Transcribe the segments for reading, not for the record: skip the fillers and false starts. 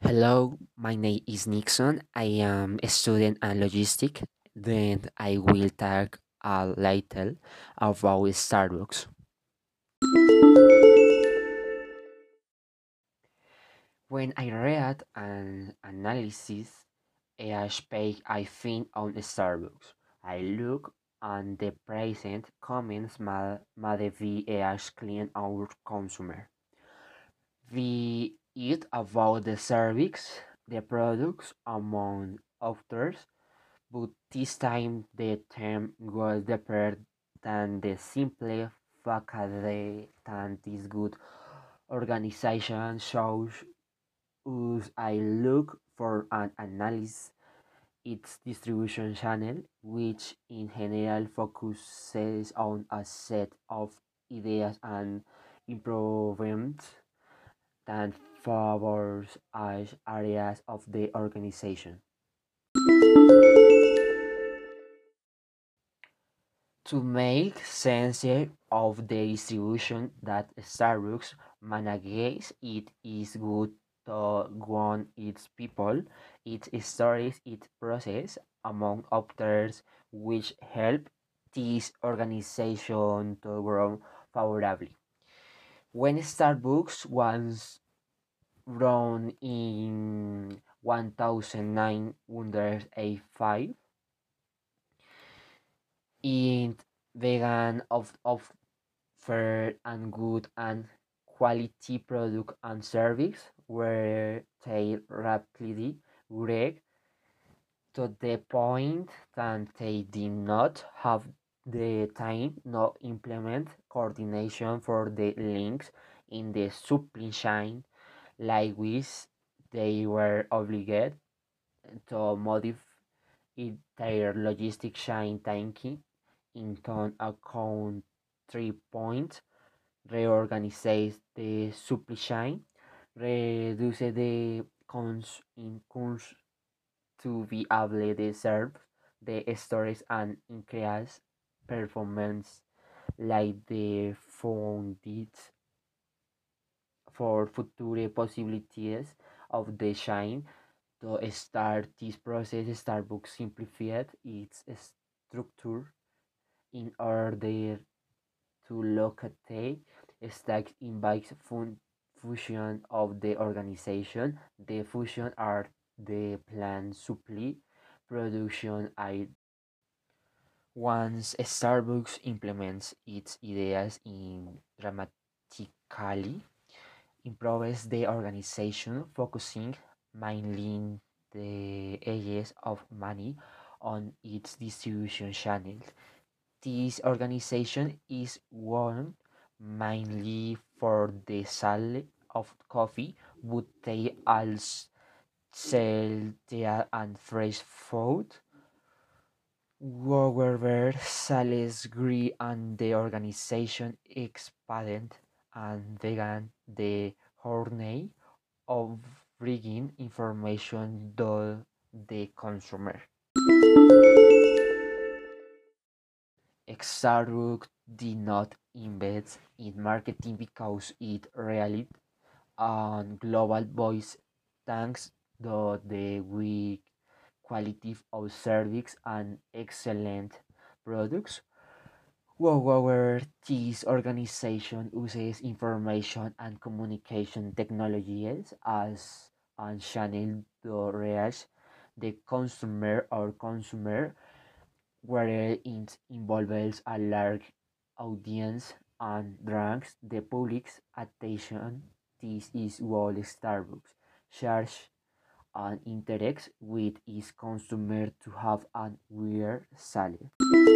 Hello, my name is Nixon. I am a student in logistics. Then I will talk a little about Starbucks. When I read an analysis page I find on Starbucks, I look and the present comments may be clean our consumer. We eat about the service, the products, among others, but this time the term goes deeper than the simple fact that this good organization shows us. I look for an analysis its distribution channel, which in general focuses on a set of ideas and improvements that favors as areas of the organization. To make sense of the distribution that Starbucks manages, it is good to warn its people, its stories, its process, among others, which help this organization to grow favorably. When Starbucks was run in 1985, it began of fair and good and quality product and service where they rapidly grew to the point that they did not have the time to implement coordination for the links in the supply chain, like which they were obligated to modify their logistic chain thinking into account 3 points: reorganize the supply chain, reduce the costs to be able to serve the stores, and increase performance like the founded for future possibilities of the chain. To start this process, Starbucks simplified its structure in order to locate stacks in bikes fusion of the organization. The fusion are the plant supply production. I Once Starbucks implements its ideas in dramatically improves the organization, focusing mainly in the areas of money on its distribution channels. This organization is one mainly for the sale of coffee, but they also sell tea and fresh food. However, sales grew and the organization expanded and began the journey of bringing information to the consumer. Starbucks did not invest in marketing because it relied on global voice thanks to the weak quality of service and excellent products. However, this organization uses information and communication technologies as a channel to reach the consumer or consumer, where it involves a large audience and draws the public's attention. This is why Starbucks charges and interacts with its consumer to have a weird sale.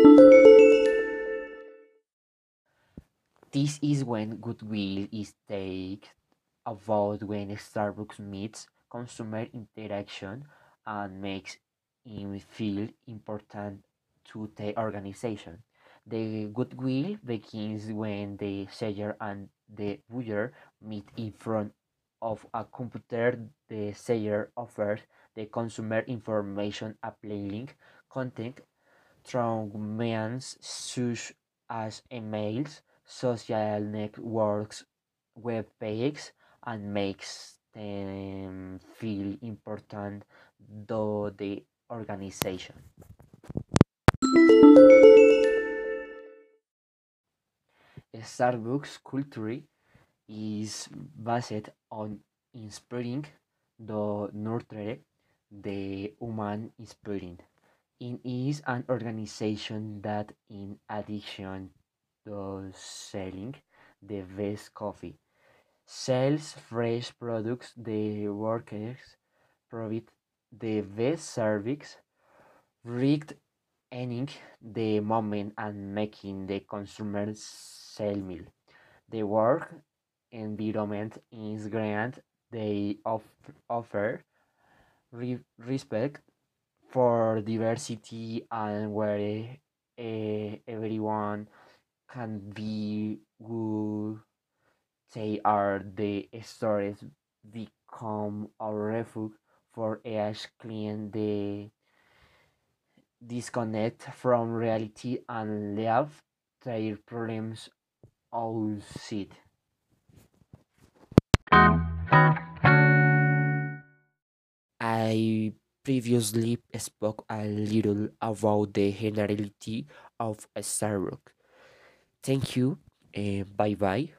This is when goodwill is taken about when Starbucks meets consumer interaction and makes him feel important to the organization. The goodwill begins when the seller and the buyer meet in front of a computer. The seller offers the consumer information applying content through means such as emails, social networks, web pages, and makes them feel important to the organization. Starbucks culture is based on inspiring the nurture the human spirit. It is an organization that, in addition to selling the best coffee, sells fresh products. The workers provide the best service, rigged ending the moment and making the consumer sell meal. The work environment is great. They offer respect for diversity and where everyone can be who they are. The stories become a refuge for each client. They disconnect from reality and leave their problems outside. I previously spoke a little about the generality of a Starbucks. Thank you. Bye bye.